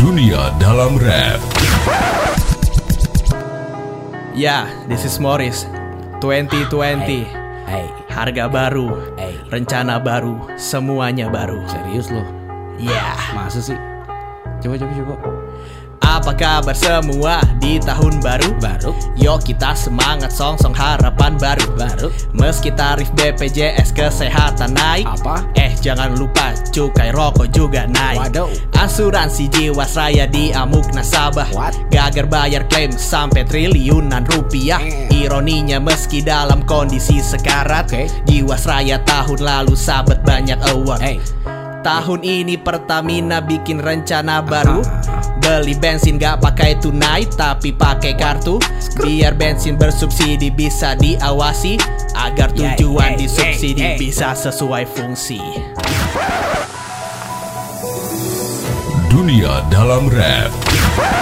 Dunia dalam rap. Ya, this is Morris. 2020. Hey, Harga baru, hey. rencana baru, semuanya baru. Serius lo? Ya, Masa sih? Coba. apa kabar semua di tahun baru? Baru? Yuk kita semangat song harapan baru. Meski tarif BPJS kesehatan naik, Apa? Jangan lupa cukai rokok juga naik. Waduh. Asuransi Jiwasraya diamuk nasabah. What? Gagal bayar klaim sampai triliunan rupiah. Ironinya meski dalam kondisi sekarat, Oke. Jiwasraya tahun lalu sahabat banyak award. Hey. Tahun ini Pertamina bikin rencana baru. Beli bensin gak pakai tunai tapi pakai kartu. Biar bensin bersubsidi bisa diawasi, agar tujuan disubsidi bisa sesuai fungsi. Dunia dalam rap.